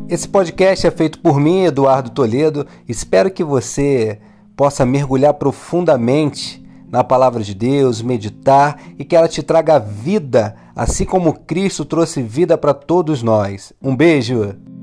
Esse podcast é feito por mim, Eduardo Toledo. Espero que você possa mergulhar profundamente na palavra de Deus, meditar e que ela te traga vida, assim como Cristo trouxe vida para todos nós. Um beijo!